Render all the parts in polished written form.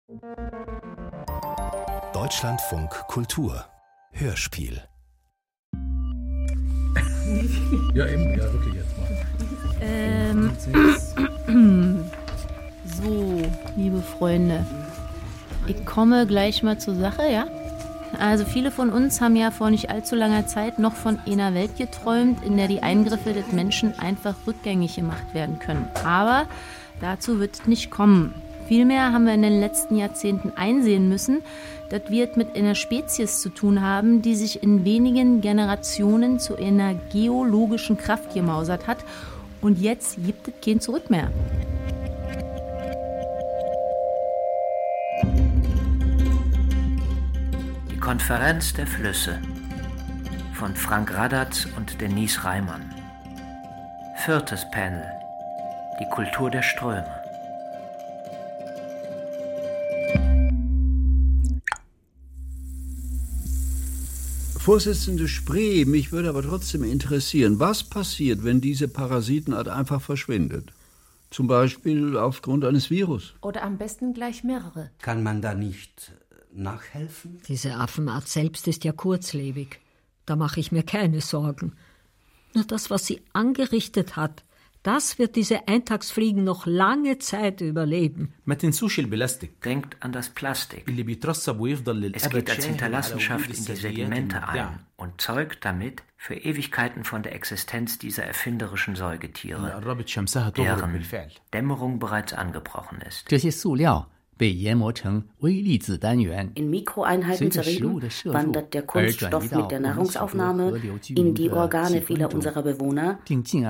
Deutschlandfunk Kultur Hörspiel. Ja, eben, ja, wirklich jetzt mal. So, liebe Freunde, ich komme gleich mal zur Sache, ja? Also viele von uns haben ja vor nicht allzu langer Zeit noch von einer Welt geträumt, in der die Eingriffe des Menschen einfach rückgängig gemacht werden können. Aber dazu wird es nicht kommen. Vielmehr haben wir in den letzten Jahrzehnten einsehen müssen, dass wir es mit einer Spezies zu tun haben, die sich in wenigen Generationen zu einer geologischen Kraft gemausert hat. Und jetzt gibt es kein Zurück mehr. Die Konferenz der Flüsse von Frank Radatz und Denise Reimann. 4. Panel. Die Kultur der Ströme. Vorsitzende Spree, mich würde aber trotzdem interessieren, was passiert, wenn diese Parasitenart einfach verschwindet? Zum Beispiel aufgrund eines Virus. Oder am besten gleich mehrere. Kann man da nicht nachhelfen? Diese Affenart selbst ist ja kurzlebig. Da mache ich mir keine Sorgen. Nur das, was sie angerichtet hat, das wird diese Eintagsfliegen noch lange Zeit überleben. Denkt an das Plastik. Es geht als Hinterlassenschaft in die Sedimente ein und zeugt damit für Ewigkeiten von der Existenz dieser erfinderischen Säugetiere, deren Dämmerung bereits angebrochen ist. In Mikroeinheiten zerrieben, wandert der Kunststoff mit der Nahrungsaufnahme in die Organe vieler unserer Bewohner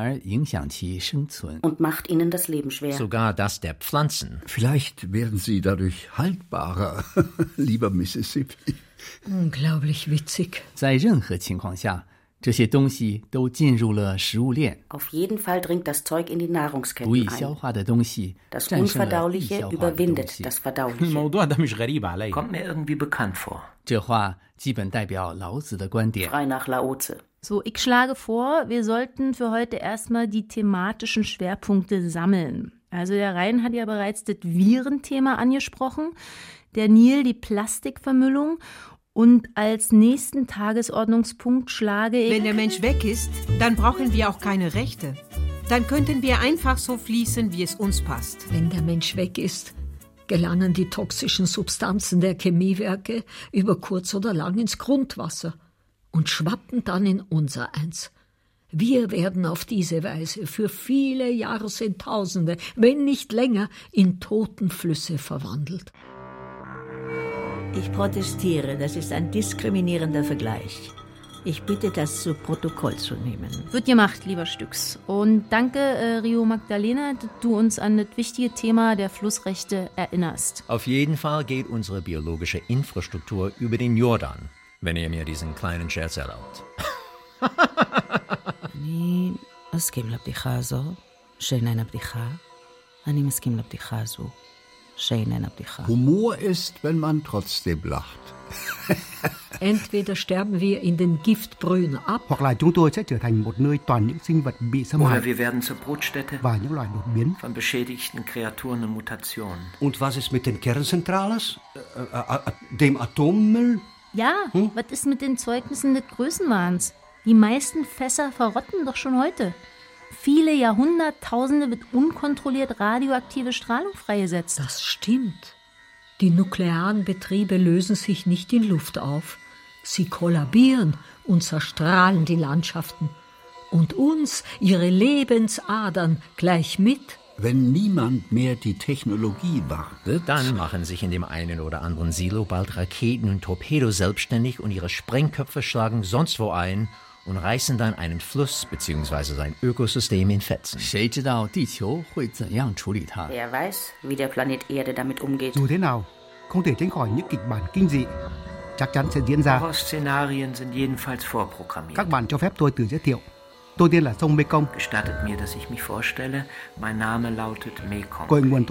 und macht ihnen das Leben schwer. Sogar das der Pflanzen. Vielleicht werden sie dadurch haltbarer, lieber Mississippi. Unglaublich witzig. 在任何情况下，这些东西都进入了食物链。 Auf jeden Fall dringt das Zeug in die Nahrungsketten ein. Das 战胜了 Unverdauliche überwindet das Verdauliche. Kommt mir irgendwie bekannt vor. 这话基本代表老子的观点。 Frei nach Laoze. So, ich schlage vor, wir sollten für heute erstmal die thematischen Schwerpunkte sammeln. Also der Rhein hat ja bereits das Virenthema angesprochen, der Nil die Plastikvermüllung. Und als nächsten Tagesordnungspunkt schlage ich... Wenn der Mensch weg ist, dann brauchen wir auch keine Rechte. Dann könnten wir einfach so fließen, wie es uns passt. Wenn der Mensch weg ist, gelangen die toxischen Substanzen der Chemiewerke über kurz oder lang ins Grundwasser und schwappen dann in unsereins. Wir werden auf diese Weise für viele Jahrzehntausende, wenn nicht länger, in Totenflüsse verwandelt. Ich protestiere, das ist ein diskriminierender Vergleich. Ich bitte, das zu Protokoll zu nehmen. Wird gemacht, lieber Stücks. Und danke, Rio Magdalena, dass du uns an das wichtige Thema der Flussrechte erinnerst. Auf jeden Fall geht unsere biologische Infrastruktur über den Jordan, wenn ihr mir diesen kleinen Scherz erlaubt. אני מסכים לבדיחה הזו, שאיננה בדיחה. אני מסכים לבדיחה הזו. Humor ist, wenn man trotzdem lacht. Entweder sterben wir in den Giftbrühen ab, Oder wir werden zur Brutstätte von beschädigten Kreaturen und Mutationen. Und was ist mit den Kernzentrales? Dem Atommüll? Ja, was ist mit den Zeugnissen des Größenwahns? Die meisten Fässer verrotten doch schon heute. Viele Jahrhunderttausende wird unkontrolliert radioaktive Strahlung freigesetzt. Das stimmt. Die nuklearen Betriebe lösen sich nicht in Luft auf. Sie kollabieren und zerstrahlen die Landschaften. Und uns, ihre Lebensadern, gleich mit. Wenn niemand mehr die Technologie wartet, dann machen sich in dem einen oder anderen Silo bald Raketen und Torpedos selbstständig und ihre Sprengköpfe schlagen sonst wo ein und reißen dann einen Fluss bzw. sein Ökosystem in Fetzen. Wer weiß, wie der Planet Erde damit umgeht. Horrorszenarien sind jedenfalls vorprogrammiert. Gestattet mir, dass ich mich vorstelle, mein Name lautet Mekong.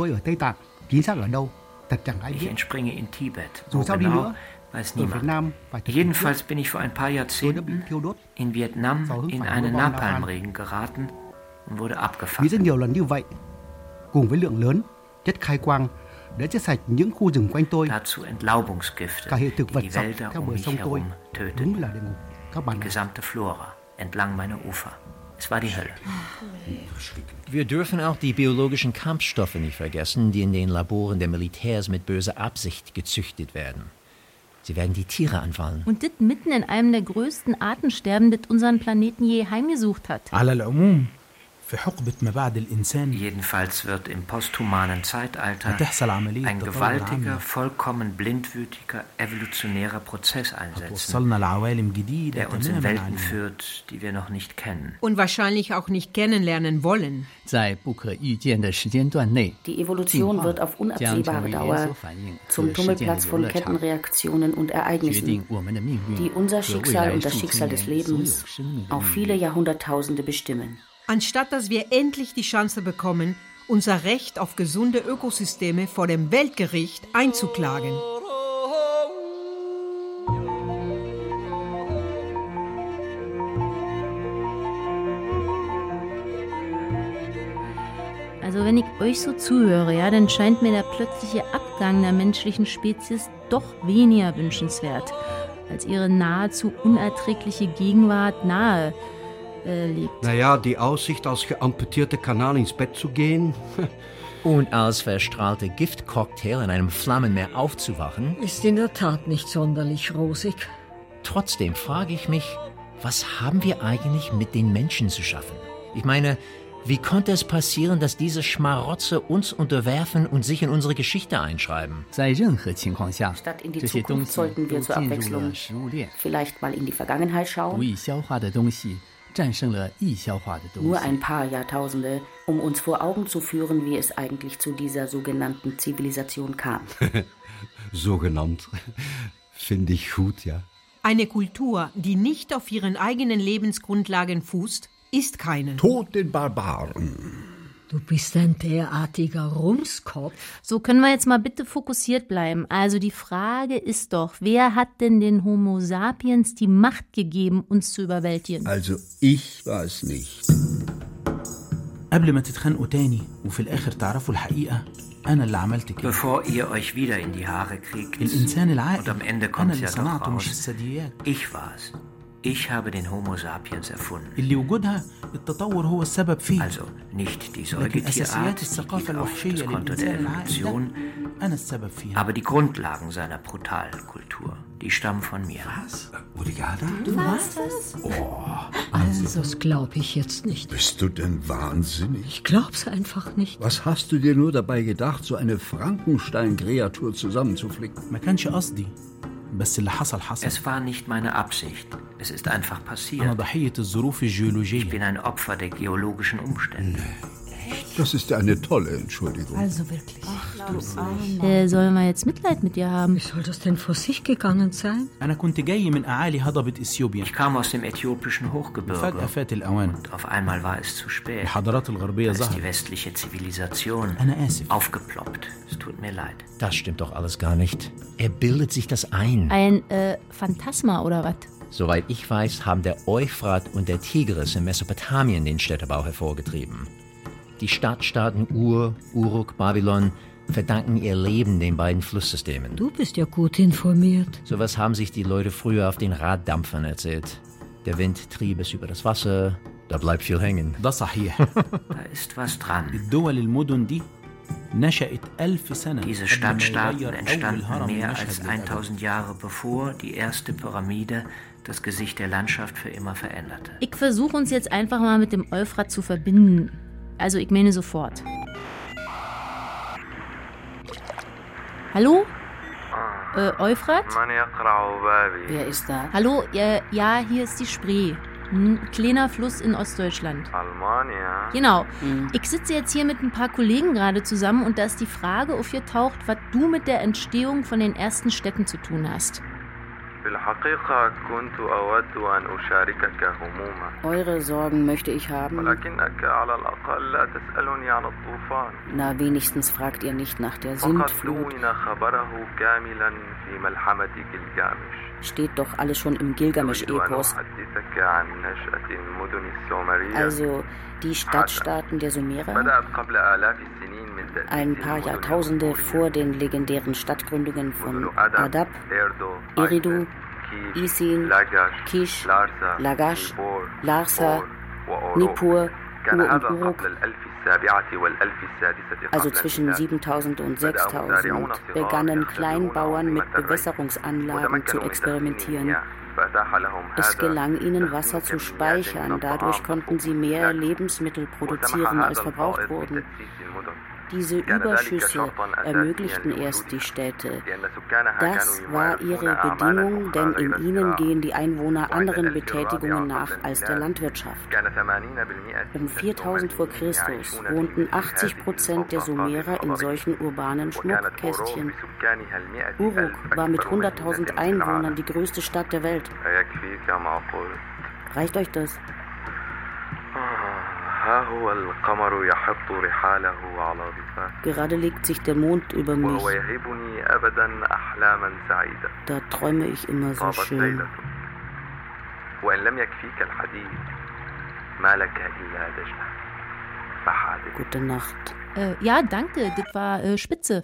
Ich entspringe in Tibet. Wo genau, weiß niemand. Jedenfalls bin ich vor ein paar Jahrzehnten in Vietnam in einen Napalmregen geraten und wurde abgefangen. Dazu Entlaubungsgifte, die die Wälder um mich herum töteten. Die gesamte Flora entlang meiner Ufer. Es war die Hölle. Wir dürfen auch die biologischen Kampfstoffe nicht vergessen, die in den Laboren der Militärs mit böser Absicht gezüchtet werden. Sie werden die Tiere anfallen. Und das mitten in einem der größten Artensterben, das unseren Planeten je heimgesucht hat. Jedenfalls wird im posthumanen Zeitalter ein gewaltiger, vollkommen blindwütiger, evolutionärer Prozess einsetzen, der uns in Welten führt, die wir noch nicht kennen. Und wahrscheinlich auch nicht kennenlernen wollen. Die Evolution wird auf unabsehbare Dauer zum Tummelplatz von Kettenreaktionen und Ereignissen, die unser Schicksal und das Schicksal des Lebens auf viele Jahrhunderttausende bestimmen. Anstatt dass wir endlich die Chance bekommen, unser Recht auf gesunde Ökosysteme vor dem Weltgericht einzuklagen. Also wenn ich euch so zuhöre, ja, dann scheint mir der plötzliche Abgang der menschlichen Spezies doch weniger wünschenswert, als ihre nahezu unerträgliche Gegenwart nahe liegt. Naja, die Aussicht, als geamputierter Kanal ins Bett zu gehen. Und als verstrahlte Giftcocktail in einem Flammenmeer aufzuwachen. Ist in der Tat nicht sonderlich rosig. Trotzdem frage ich mich, was haben wir eigentlich mit den Menschen zu schaffen? Ich meine, wie konnte es passieren, dass diese Schmarotze uns unterwerfen und sich in unsere Geschichte einschreiben? Statt in die Zukunft sollten wir zur Abwechslung vielleicht mal in die Vergangenheit schauen. Nur ein paar Jahrtausende, um uns vor Augen zu führen, wie es eigentlich zu dieser sogenannten Zivilisation kam. Sogenannt. Finde ich gut, ja. Eine Kultur, die nicht auf ihren eigenen Lebensgrundlagen fußt, ist keine. Tod den Barbaren. Du bist ein derartiger Rumskopf. So, können wir jetzt mal bitte fokussiert bleiben. Also die Frage ist doch, wer hat denn den Homo sapiens die Macht gegeben, uns zu überwältigen? Also ich weiß nicht. Bevor ihr euch wieder in die Haare kriegt, und am Ende kommt es ja doch raus, ich war's. Ich habe den Homo sapiens erfunden. Also nicht die Säugetierart, die geht auf das Konto der Evolution, aber die Grundlagen seiner brutalen Kultur, die stammen von mir. Was? Udigada? Du warst das? Oh. Also, das glaube ich jetzt nicht. Bist du denn wahnsinnig? Ich glaub's einfach nicht. Was hast du dir nur dabei gedacht, so eine Frankenstein-Kreatur zusammenzuflicken? Es war nicht meine Absicht. Es ist einfach passiert. Ich bin ein Opfer der geologischen Umstände. Das ist eine tolle Entschuldigung. Also wirklich. Sollen wir jetzt Mitleid mit dir haben? Wie soll das denn vor sich gegangen sein? Ich kam aus dem äthiopischen Hochgebirge und auf einmal war es zu spät. Da ist die westliche Zivilisation aufgeploppt. Es tut mir leid. Das stimmt doch alles gar nicht. Er bildet sich das ein. Ein Phantasma oder was? Soweit ich weiß, haben der Euphrat und der Tigris in Mesopotamien den Städtebau hervorgetrieben. Die Stadtstaaten Ur, Uruk, Babylon verdanken ihr Leben den beiden Flusssystemen. Du bist ja gut informiert. Sowas haben sich die Leute früher auf den Raddampfern erzählt. Der Wind trieb es über das Wasser, da bleibt viel hängen. Da ist was dran. Diese Stadtstaaten entstanden mehr als 1000 Jahre bevor die erste Pyramide das Gesicht der Landschaft für immer veränderte. Ich versuche uns jetzt einfach mal mit dem Euphrat zu verbinden. Also ich meine sofort. Hallo? Euphrat? Wer ist da? Hallo, ja, hier ist die Spree. Ein kleiner Fluss in Ostdeutschland. Genau. Ich sitze jetzt hier mit ein paar Kollegen gerade zusammen und da ist die Frage aufgetaucht, was du mit der Entstehung von den ersten Städten zu tun hast. Eure Sorgen möchte ich haben. Na, wenigstens fragt ihr nicht nach der Sintflut. Steht doch alles schon im Gilgamesch-Epos. Also die Stadtstaaten der Sumerer? ein paar Jahrtausende vor den legendären Stadtgründungen von Adab, Eridu, Isin, Kish, Lagash, Larsa, Nippur, Ur und Uruk, also zwischen 7000 und 6000, begannen Kleinbauern mit Bewässerungsanlagen zu experimentieren. Es gelang ihnen, Wasser zu speichern. Dadurch konnten sie mehr Lebensmittel produzieren, als verbraucht wurden. Diese Überschüsse ermöglichten erst die Städte. Das war ihre Bedingung, denn in ihnen gehen die Einwohner anderen Betätigungen nach als der Landwirtschaft. Um 4000 vor Christus wohnten 80% der Sumerer in solchen urbanen Schmuckkästchen. Uruk war mit 100.000 Einwohnern die größte Stadt der Welt. Reicht euch das? Gerade legt sich der Mond über mich. Da träume ich immer so schön. Gute Nacht. Ja, danke, das war spitze.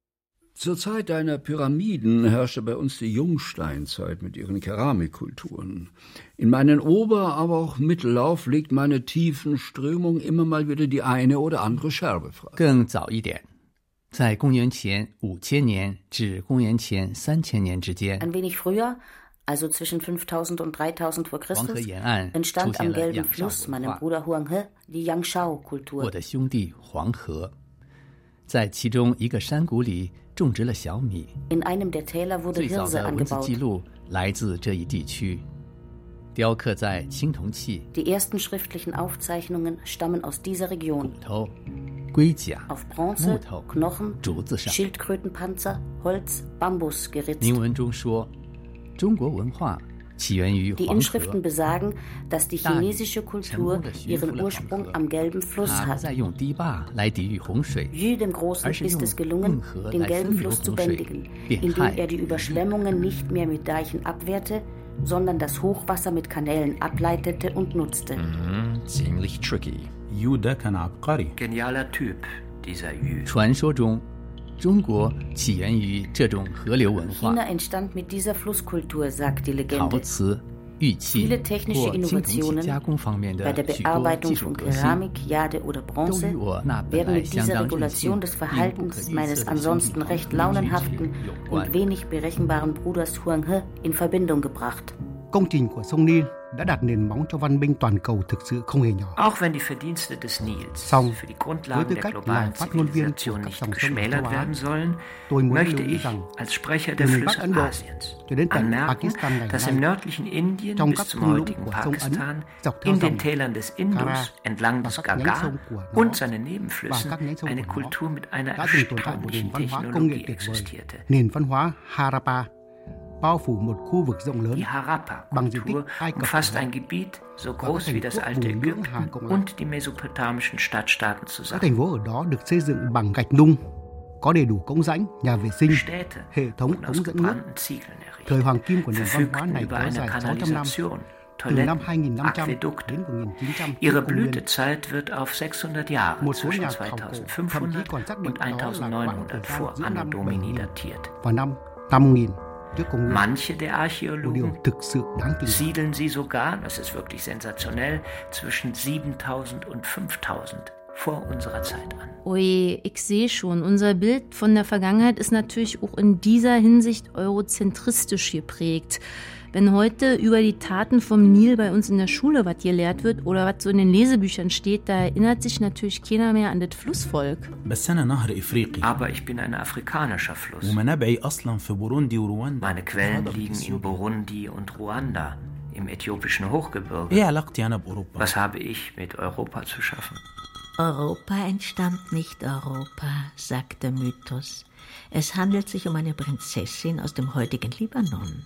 Zur Zeit deiner Pyramiden herrschte bei uns die Jungsteinzeit mit ihren Keramikkulturen. In meinen Ober-, aber auch Mittellauf legt meine tiefen Strömung immer mal wieder die eine oder andere Scherbe frei. 更早一点，在公元前5000年至公元前3000年之间， Ein wenig früher, also zwischen 5000 und 3000 vor Christus, entstand am Gelben Fluss, meinem Bruder Huanghe, die Yangshao-Kultur. 我的兄弟黄河，在其中一个山谷里种植了小米。 In einem der Täler wurde 最早 Hirse 的文字 angebaut. 记录来自这一地区，雕刻在青铜器、 Die ersten schriftlichen Aufzeichnungen stammen aus dieser Region. 骨头、龟甲、 Auf 木 Bronze, 头、 Knochen, 竹子上。 Schildkrötenpanzer, Holz, Bambus geritzt. 铭文中说，中国文化起源于 Die 黄河。 Inschriften besagen, dass die chinesische Kultur ihren Ursprung am Gelben Fluss 他 hat. 在用堤坝来抵御洪水， Yu dem Großen ist es gelungen, den Gelben Fluss zu bändigen, indem er die Überschwemmungen nicht mehr mit Deichen abwehrte, sondern das Hochwasser mit Kanälen ableitete und nutzte. ziemlich tricky. يو ده كان عبقري. Genialer Typ, dieser Yu. 传说中，中国起源于这种河流文化， China entstand mit dieser Flusskultur, sagt die 陶 Legende. 瓷、玉器 Viele technische 或青铜器 Innovationen 加工方面 bei 的 der 许多 Bearbeitung 技术 von 革新， Keramik, Jade oder 都 Bronze 与我那本 werden 来 mit 相 dieser 当任 Regulation 性 des 并不可 Verhaltens 逆 meines 色的 ansonsten 兄弟 recht 黄 launenhaften 有关 und。wenig berechenbaren Bruders Huanghe in Verbindung gebracht. Công trình của sông Nin đã đặt nền móng cho văn minh toàn cầu thực sự không hề nhỏ. Auch wenn die Verdienste des Nils Song, für die với Grundlagen tư der cách globalen là phát ngôn viên của Zivilisation các nicht dòng sông geschmälert châu Á, werden sollen, tôi muốn möchte lưu ý ich rằng als Sprecher từ der miền Bắc Flüsse Ấn Độ Asiens cho đến tận anmerken, Pakistan ngày dass im nay, nördlichen Indien trong bis các zum thung lũng heutigen của sông Ấn, Pakistan, dọc theo in den dòng Tälern des Indus, Kara entlang và des các nhánh Gaga sông của nó und seinen và Nebenflüssen các nhánh sông eine của nó Kultur mit einer đã từng tồn tại một nền erstaunlichen văn hóa công nghệ Technologie tuyệt vời, existierte. nền văn hóa Harappa, bao phủ một khu vực rộng lớn Die bằng diện tích Harappa-Kultur Ai Cập umfasst cổ đại ein Gebiet so và các groß wie thành das phố alte vùng Lưỡng Hà Ägypten Cộng lại. und die mesopotamischen Stadtstaaten Các zusammen. thành phố ở đó được xây dựng bằng gạch nung, có đầy đủ cống rãnh, nhà vệ sinh, Städte hệ thống wurden aus ống dẫn nước. gebrannten Ziegeln Thời errichtet, hoàng kim của nền văn hóa verfügten này über kéo eine dài 600 năm, Kanalisation, từ năm Toiletten, 2500 Aquädukte. đến 1900 trước Ihre công nguyên. Blütezeit wird auf 600 Jahre Một số zwischen nhà khảo cổ thậm chí 2500 còn xác định und đó là khoảng 1900 thời gian vor giữa Anno năm Domini 7000 datiert. và năm 5000 trước công nguyên. Manche der Một điều Archäologen thực sự đáng kinh ngạc. siedeln sie sogar, das ist wirklich sensationell, zwischen 7000 und 5000 vor unserer Zeit an. Ui, ich sehe schon, unser Bild von der Vergangenheit ist natürlich auch in dieser Hinsicht eurozentristisch geprägt. Wenn heute über die Taten vom Nil bei uns in der Schule was gelehrt wird oder was so in den Lesebüchern steht, da erinnert sich natürlich keiner mehr an das Flussvolk. بس أنا نهر إفريقي. Aber ich bin ein afrikanischer Fluss. ومنابعي أصلا في بوروندي ورواندا. Meine Quellen liegen in Burundi und Ruanda, im äthiopischen Hochgebirge. إيه علاقتي أنا بأوروبا؟ Was habe ich mit Europa zu schaffen? Europa entstammt nicht Europa, sagt der Mythos. Es handelt sich um eine Prinzessin aus dem heutigen Libanon,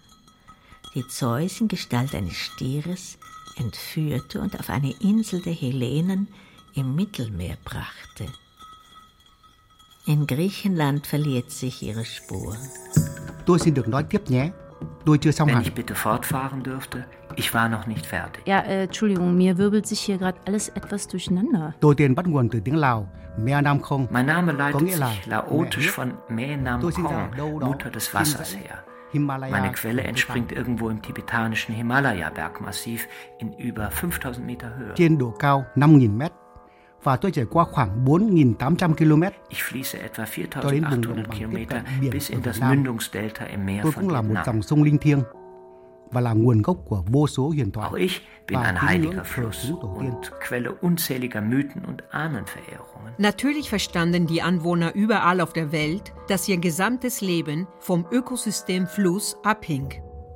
die Zeus in Gestalt eines Stieres entführte und auf eine Insel der Hellenen im Mittelmeer brachte. In Griechenland verliert sich ihre Spur. Tôi xin được nói tiếp nhé. Wenn ich bitte fortfahren dürfte, ich war noch nicht fertig. Ja, Entschuldigung, mir wirbelt sich hier gerade alles etwas durcheinander. Mein Name leitet sich laotisch von Mae Nam Kong, Mutter des Wassers, her. Meine Quelle entspringt irgendwo im tibetanischen Himalaya-Bergmassiv in über 5000 Meter Höhe. Ich fließe etwa 4800 Kilometer bis in das Mündungsdelta im Meer von Vietnam. Auch ich bin ein heiliger Fluss und Quelle unzähliger Mythen und Ahnenverehrungen. Natürlich verstanden die Anwohner überall auf der Welt, dass ihr gesamtes Leben vom Ökosystem Fluss abhing.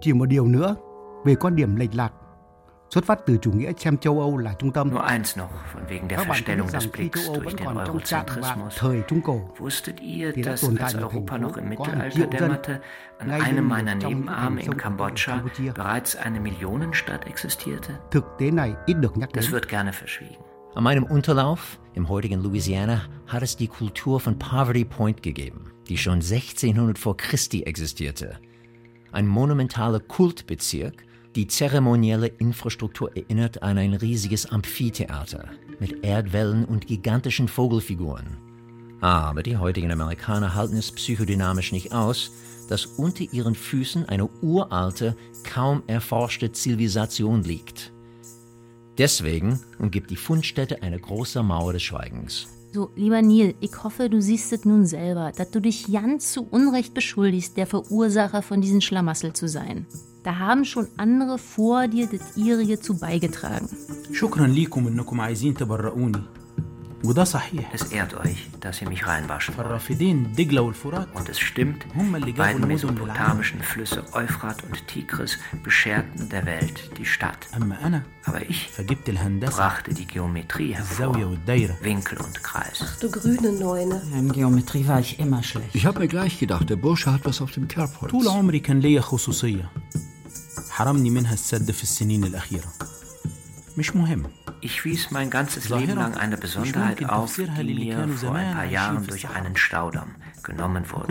Nur eins noch, von wegen der Verstellung des Blicks durch den Eurozentrismus. Wusstet ihr, dass als Europa noch im Mittelalter dämmerte, an einem meiner Nebenarme in Kambodscha bereits eine Millionenstadt existierte? Das wird gerne verschwiegen. An meinem Unterlauf, im heutigen Louisiana, hat es die Kultur von Poverty Point gegeben, die schon 1600 vor Christi existierte. Ein monumentaler Kultbezirk. Die zeremonielle Infrastruktur erinnert an ein riesiges Amphitheater mit Erdwellen und gigantischen Vogelfiguren. Aber die heutigen Amerikaner halten es psychodynamisch nicht aus, dass unter ihren Füßen eine uralte, kaum erforschte Zivilisation liegt. Deswegen umgibt die Fundstätte eine große Mauer des Schweigens. So, lieber Neil, ich hoffe, du siehst es nun selber, dass du dich ganz zu Unrecht beschuldigst, der Verursacher von diesen Schlamassel zu sein. Da haben schon andere vor dir das ihrige zu beigetragen. شكرا ليكم انكم عايزين تبرئوني. وده صحيح. Es ehrt euch, dass ihr mich reinwaschen فالرافدين دجلة والفرات. Und es stimmt, die beiden mesopotamischen Flüsse Euphrat und Tigris bescherten der Welt die Stadt. Aber ich brachte die Geometrie hervor, Winkel und Kreis. Ach du grüne Neune. In Geometrie war ich immer schlecht. Ich habe mir gleich gedacht, der Bursche hat was auf dem Kerbholz. طول عمري كان ليا خصوصية. حرمني منها السد في السنين الأخيرة. مش مهم. Ich wies mein ganzes Leben lang eine Besonderheit auf, die mir vor ein paar Jahren durch einen Staudamm genommen wurde.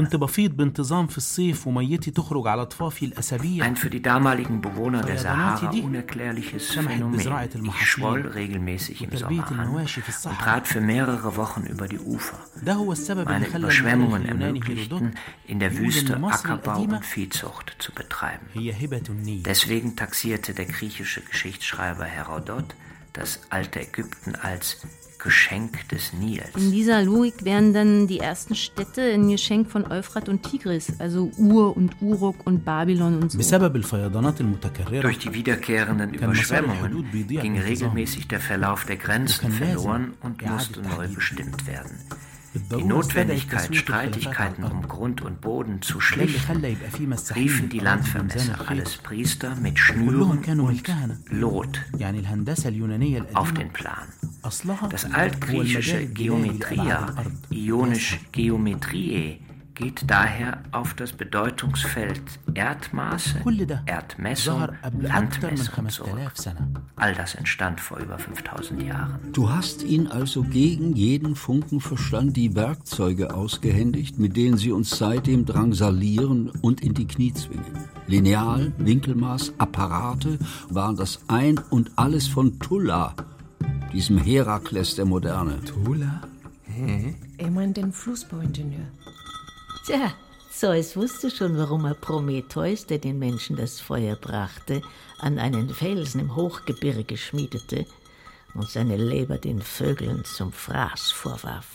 Ein für die damaligen Bewohner der Sahara unerklärliches Phänomen. Ich schwoll regelmäßig im Sommer an und trat für mehrere Wochen über die Ufer. Meine Überschwemmungen ermöglichten, in der Wüste Ackerbau und Viehzucht zu betreiben. Deswegen taxierte der griechische Geschichtsschreiber Herodot das alte Ägypten als Geschenk des Nils. In dieser Logik wären dann die ersten Städte ein Geschenk von Euphrat und Tigris, also Ur und Uruk und Babylon und so. Durch die wiederkehrenden Überschwemmungen ging regelmäßig der Verlauf der Grenzen verloren und musste neu bestimmt werden. Die Notwendigkeit, Streitigkeiten um Grund und Boden zu schlichten, riefen die Landvermesser, alles Priester, mit Schnüren und Lot auf den Plan. Das altgriechische Geometria, ionisch Geometriae, geht daher auf das Bedeutungsfeld Erdmaße, Erdmessung, Landmessung zurück. All das entstand vor über 5000 Jahren. Du hast ihnen also gegen jeden Funkenverstand die Werkzeuge ausgehändigt, mit denen sie uns seitdem drangsalieren und in die Knie zwingen. Lineal, Winkelmaß, Apparate waren das Ein und Alles von Tulla, diesem Herakles der Moderne. Tulla? Er meint den Flussbauingenieur. Tja, Zeus wusste schon, warum er Prometheus, der den Menschen das Feuer brachte, an einen Felsen im Hochgebirge schmiedete und seine Leber den Vögeln zum Fraß vorwarf.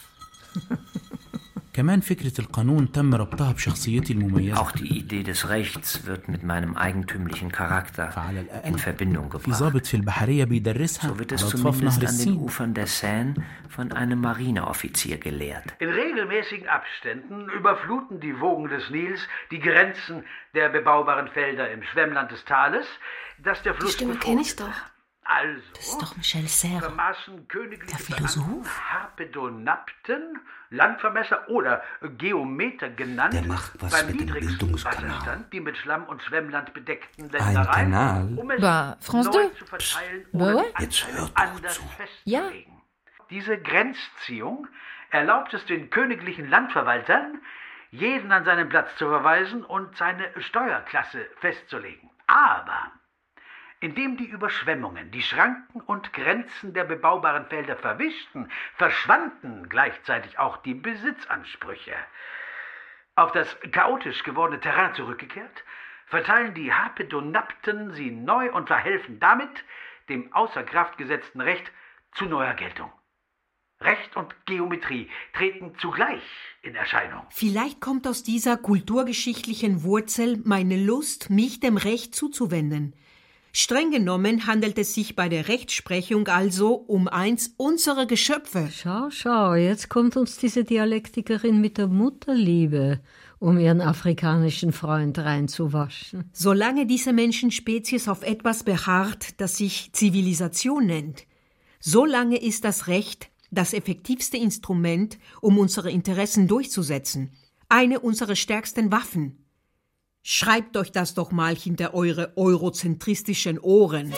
كمان فكرة القانون تم ربطها بشخصيتي المميزة. Auch die Idee des Rechts wird mit meinem eigentümlichen Charakter in Verbindung gebracht. So wird es zumindest an den Ufern der Seine von einem Marineoffizier gelehrt. In regelmäßigen Abständen überfluten die Wogen des Nils die Grenzen der bebaubaren Felder im Schwemmland des Tales, das der Fluss Die Stimme kenne ich doch. Also, das ist doch Michel Serre, vermaßen königliche der Philosoph. Harpedonapten, Landvermesser oder Geometer genannt, beim niedrigsten Wasserstand die mit Schlamm und Schwemmland bedeckten Ländereien, um es neu zu verteilen oder anders festzulegen. Diese Grenzziehung erlaubt es den königlichen Landverwaltern, jeden an seinen Platz zu verweisen und seine Steuerklasse festzulegen. Aber indem die Überschwemmungen die Schranken und Grenzen der bebaubaren Felder verwischten, verschwanden gleichzeitig auch die Besitzansprüche. Auf das chaotisch gewordene Terrain zurückgekehrt, verteilen die Harpedonapten sie neu und verhelfen damit dem außer Kraft gesetzten Recht zu neuer Geltung. Recht und Geometrie treten zugleich in Erscheinung. Vielleicht kommt aus dieser kulturgeschichtlichen Wurzel meine Lust, mich dem Recht zuzuwenden. Streng genommen handelt es sich bei der Rechtsprechung also um eins unserer Geschöpfe. Schau, jetzt kommt uns diese Dialektikerin mit der Mutterliebe, um ihren afrikanischen Freund reinzuwaschen. Solange diese Menschenspezies auf etwas beharrt, das sich Zivilisation nennt, solange ist das Recht das effektivste Instrument, um unsere Interessen durchzusetzen. Eine unserer stärksten Waffen. Schreibt euch das doch mal hinter eure eurozentristischen Ohren.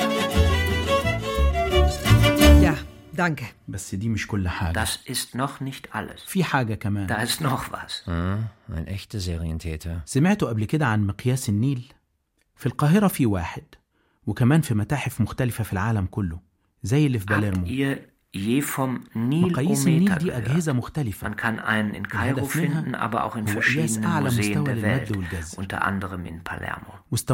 Ja, danke. Das ist noch nicht alles. Da ist noch was. Ein echter Serientäter. سمعت قبل كده عن مقياس النيل. في القاهرة في واحد وكمان في متاحف مختلفة في العالم كله زي اللي في باليرمو. Je vom Nilometer gehört. Man kann einen in Kairo finden, aber auch in verschiedenen Museen der Welt, unter anderem in Palermo.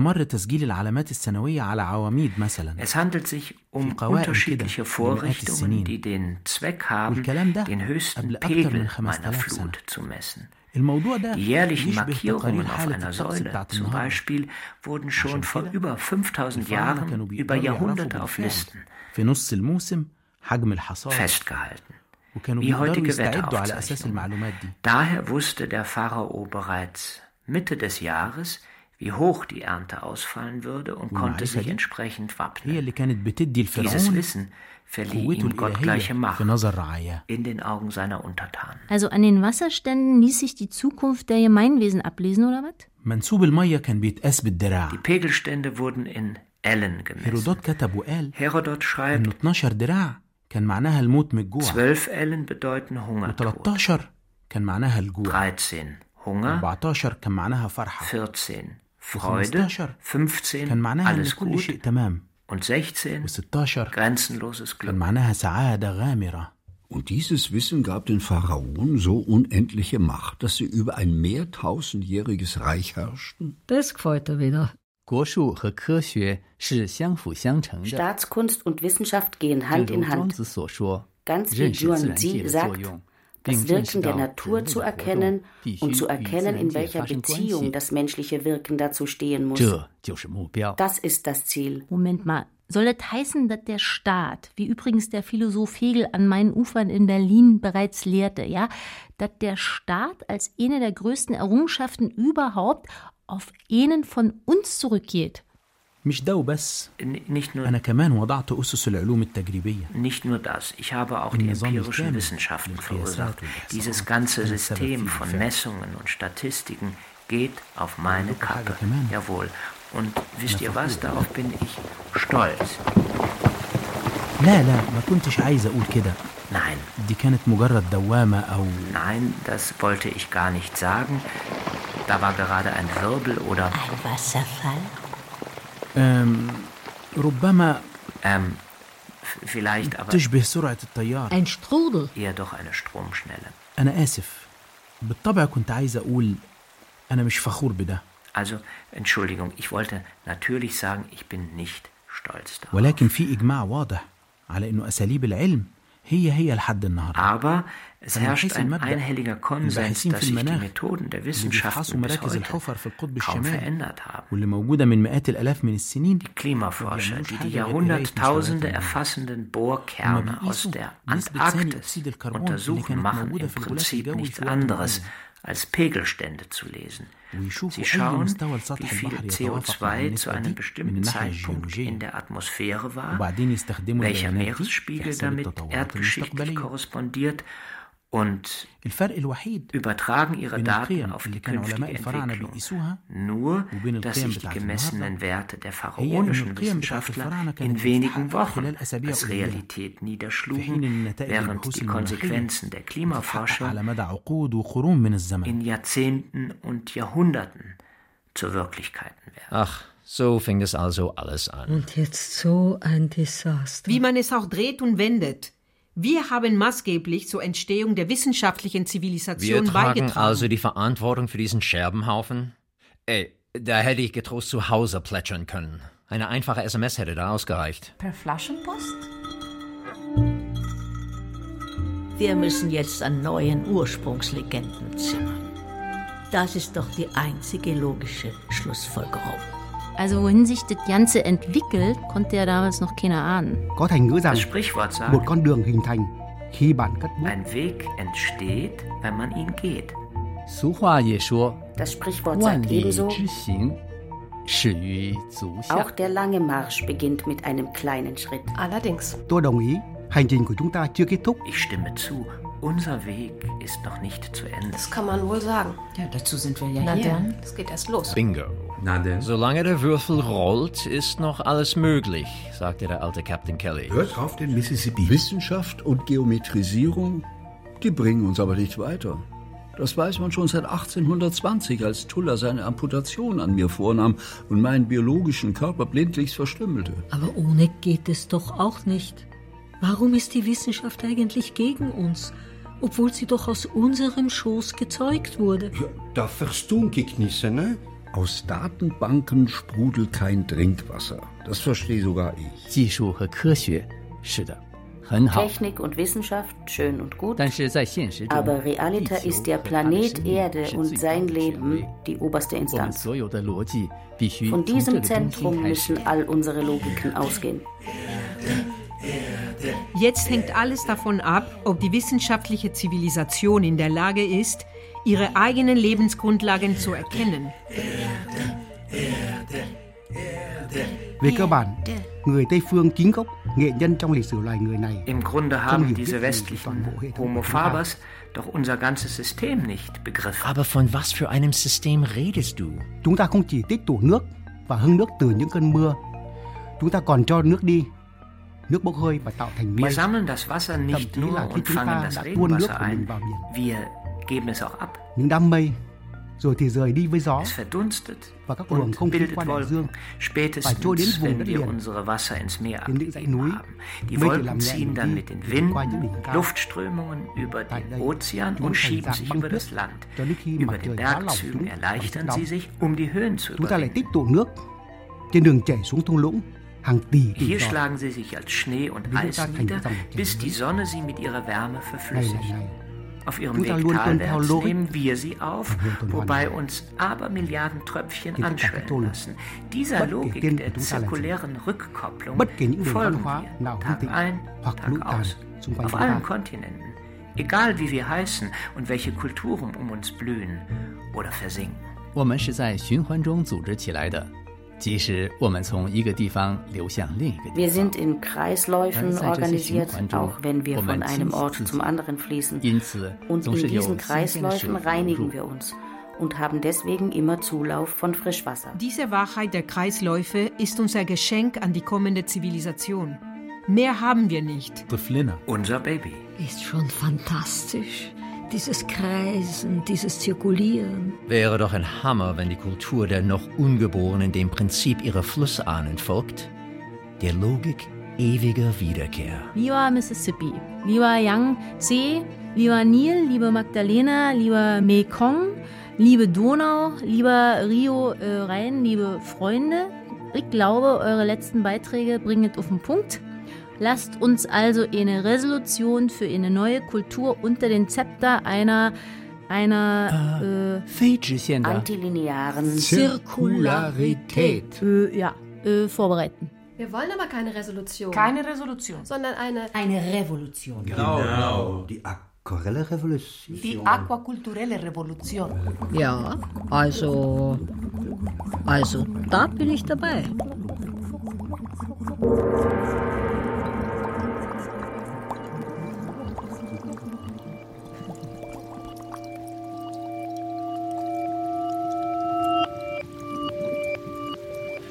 Es handelt sich um unterschiedliche Vorrichtungen, die den Zweck haben, den höchsten Pegel meiner Flut zu messen. Die jährlichen Markierungen auf einer Säule zum Beispiel wurden schon vor über 5000 Jahren über Jahrhunderte auf Listen festgehalten, wie heutige Wetteraufzeichnungen. Daher wusste der Pharao bereits Mitte des Jahres, wie hoch die Ernte ausfallen würde und konnte sich entsprechend wappnen. Dieses Wissen verlieh ihm gottgleiche Macht in den Augen seiner Untertanen. Also an den Wasserständen ließ sich die Zukunft der Gemeinwesen ablesen, oder was? Die Pegelstände wurden in Ellen gemessen. Herodot schreibt, 12 Ellen bedeuten Hungertod, 13 Hunger, 14 Freude, 15 alles gut und 16 grenzenloses Glück. Und dieses Wissen gab den Pharaonen so unendliche Macht, dass sie über ein mehrtausendjähriges Reich herrschten? Das gefällt er wieder. Staatskunst und Wissenschaft gehen Hand in Hand. Ganz wie Zhuangzi sagt, das Wirken der Natur zu erkennen und zu erkennen, in welcher Beziehung das menschliche Wirken dazu stehen muss. Das ist das Ziel. Moment mal, soll das heißen, dass der Staat, wie übrigens der Philosoph Hegel an meinen Ufern in Berlin bereits lehrte, ja, dass der Staat als eine der größten Errungenschaften überhaupt auf einen von uns zurückgeht? Nicht nur das, ich habe auch die empirischen Wissenschaften verursacht. Dieses ganze System von Messungen und Statistiken geht auf meine Kappe. Jawohl. Und wisst ihr was, darauf bin ich stolz. Nein. Nein, das wollte ich gar nicht sagen. Da war gerade ein Wirbel oder... Ein Wasserfall? Vielleicht, aber... Ein Strudel. Eher doch eine Stromschnelle. Also, Entschuldigung, ich wollte natürlich sagen, ich bin nicht stolz darauf. Aber es herrscht ein einhelliger Konsens, dass sich die Methoden der Wissenschaften bis heute kaum verändert haben. Die Klimaforscher, die die Jahrhunderttausende erfassenden Bohrkerne aus der Antarktis untersuchen, machen im Prinzip nichts anderes, als Pegelstände zu lesen. Sie schauen, wie viel CO2 zu einem bestimmten Zeitpunkt in der Atmosphäre war, welcher Meeresspiegel damit erdgeschichtlich korrespondiert und übertragen ihre Daten auf die künftige Entwicklung. Nur, dass sich die gemessenen Werte der pharaonischen Wissenschaftler in wenigen Wochen als Realität niederschlugen, während die Konsequenzen der Klimaforscher in Jahrzehnten und Jahrhunderten zur Wirklichkeit werden. Ach, so fing es also alles an. Und jetzt so ein Desaster. Wie man es auch dreht und wendet. Wir haben maßgeblich zur Entstehung der wissenschaftlichen Zivilisation beigetragen. Wir tragen also die Verantwortung für diesen Scherbenhaufen? Ey, da hätte ich getrost zu Hause plätschern können. Eine einfache SMS hätte da ausgereicht. Per Flaschenpost? Wir müssen jetzt an neuen Ursprungslegenden zimmern. Das ist doch die einzige logische Schlussfolgerung. Also wohin sich das Ganze entwickelt, konnte ja damals noch keiner ahnen. Das Sprichwort sagt, ein Weg entsteht, wenn man ihn geht. Das Sprichwort sagt ebenso, auch der lange Marsch beginnt mit einem kleinen Schritt. Allerdings. Ich stimme zu. Unser Weg ist noch nicht zu Ende. Das kann man wohl sagen. Ja, dazu sind wir ja Na hier. dann, es geht erst los. Bingo. Na denn? Solange der Würfel rollt, ist noch alles möglich, sagte der alte Captain Kelly. Hört auf den Mississippi. Wissenschaft und Geometrisierung, die bringen uns aber nicht weiter. Das weiß man schon seit 1820, als Tuller seine Amputation an mir vornahm und meinen biologischen Körper blindlings verstümmelte. Aber ohne geht es doch auch nicht. Warum ist die Wissenschaft eigentlich gegen uns, obwohl sie doch aus unserem Schoß gezeugt wurde? Ja, da verstund ich nicht, ne? Aus Datenbanken sprudelt kein Trinkwasser. Das verstehe sogar ich. Technik und Wissenschaft, schön und gut, aber Realita ist der Planet Erde und sein Leben die oberste Instanz. Von diesem Zentrum müssen all unsere Logiken ausgehen. Jetzt hängt alles davon ab, ob die wissenschaftliche Zivilisation in der Lage ist, ihre eigenen Lebensgrundlagen zu erkennen. Im Grunde haben diese westlichen Homo fabers doch unser ganzes System nicht begriffen. Aber von was für einem System redest du? Wir sammeln das Wasser nicht nur und fangen das Regenwasser ein, wir geben es auch ab. Es verdunstet und bildet Wolken, spätestens wenn wir unsere Wasser ins Meer abgegeben haben. Die Wolken ziehen dann mit den Winden, Luftströmungen über den Ozean und schieben sich über das Land. Über den Bergzügen erleichtern sie sich, um die Höhen zu überwinden. Hier schlagen sie sich als Schnee und Eis nieder, bis die Sonne sie mit ihrer Wärme verflüssigt. Auf ihrem Weg talwärts nehmen wir sie auf, wobei uns Abermilliarden Tröpfchen anschwellen lassen. Dieser Logik der zirkulären Rückkopplung folgen wir Tag ein, Tag aus, auf allen Kontinenten, egal wie wir heißen und welche Kulturen um uns blühen oder versinken. 我们是在循环中组织起来的。 即使我们从一个地方流向另一个地方， Wir sind in Kreisläufen organisiert, auch wenn wir von einem Ort zum anderen fließen. Und in diesen Kreisläufen reinigen wir uns und haben deswegen immer Zulauf von Frischwasser. Diese Wahrheit der Kreisläufe ist unser Geschenk an die kommende Zivilisation. Mehr haben wir nicht. Unser Baby. Ist schon fantastisch. Dieses Kreisen, dieses Zirkulieren. Wäre doch ein Hammer, wenn die Kultur der noch Ungeborenen dem Prinzip ihrer Flussahnen folgt, der Logik ewiger Wiederkehr. Lieber Mississippi, lieber Yangtze, lieber Nil, liebe Magdalena, lieber Mekong, liebe Donau, lieber Rio Rhein, liebe Freunde, ich glaube, eure letzten Beiträge bringen es auf den Punkt. Lasst uns also eine Resolution für eine neue Kultur unter den Zepter einer antilinearen Zirkularität vorbereiten. Wir wollen aber keine Resolution. Keine Resolution. Sondern eine Revolution. Genau. Die aquarelle Revolution. Die aquakulturelle Revolution. Ja, also da bin ich dabei.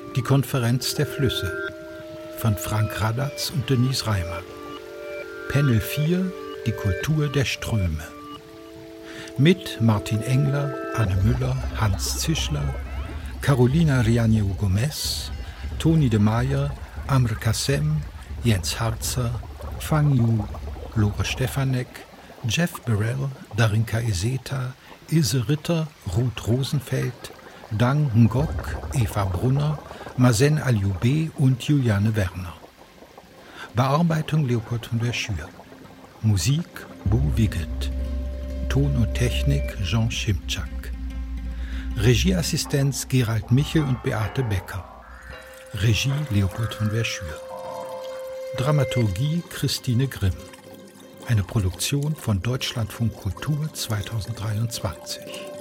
Die Konferenz der Flüsse von Frank Radatz und Denise Reimer. Panel 4, die Kultur der Ströme. Mit Martin Engler, Anne Müller, Hans Zischler, Carolina Riaño-Gomez, Toni de Meyer, Amr Kassem, Jens Harzer, Fang Yu, Lore Stefanek, Jeff Burrell, Darinka Iseta, Ilse Ritter, Ruth Rosenfeld, Dang Ngok, Eva Brunner, Mazen Alioube und Juliane Werner. Bearbeitung Leopold von der Schür. Musik Bo Wiggett. Ton und Technik Jean Schimczak. Regieassistenz Gerald Michel und Beate Becker. Regie Leopold von der Schür. Dramaturgie Christine Grimm. Eine Produktion von Deutschlandfunk Kultur 2023.